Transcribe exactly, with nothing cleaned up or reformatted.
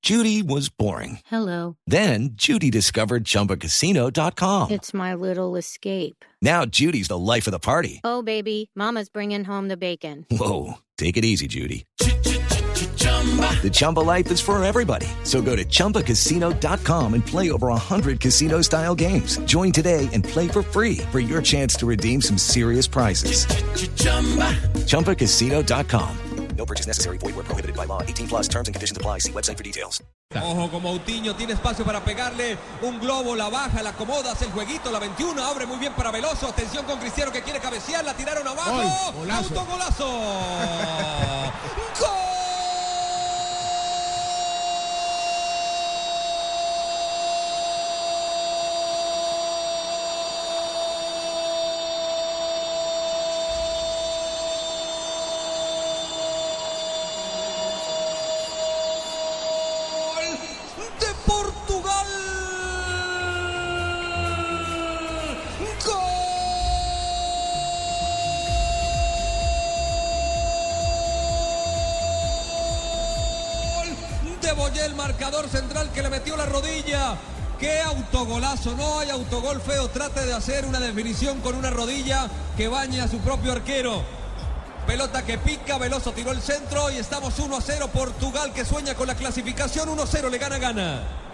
Judy was boring. Hello. Then Judy discovered Chumba Casino dot com. It's my little escape. Now Judy's the life of the party. Oh, baby, mama's bringing home the bacon. Whoa, take it easy, Judy. The Chumba life is for everybody. So go to Chumba Casino dot com and play over one hundred casino-style games. Join today and play for free for your chance to redeem some serious prizes. Chumba Casino dot com. No purchase necessary. Void where prohibited by law. eighteen plus terms and conditions apply. See website for details. Ojo con Moutinho, tiene espacio para pegarle un globo, la baja, la acomoda, hace el jueguito, la veintiuno, abre muy bien para Veloso, atención con Cristiano que quiere cabecear, la tiraron abajo, Gol, golazo. autogolazo. ¡Gol! De Portugal. ¡Gol! De Boyé, el marcador central que le metió la rodilla. ¡Qué autogolazo! No hay autogol feo. Trate de hacer una definición con una rodilla que bañe a su propio arquero. Pelota que pica, Veloso tiró el centro y estamos uno a cero. Portugal que sueña con la clasificación, uno a cero, le gana, gana.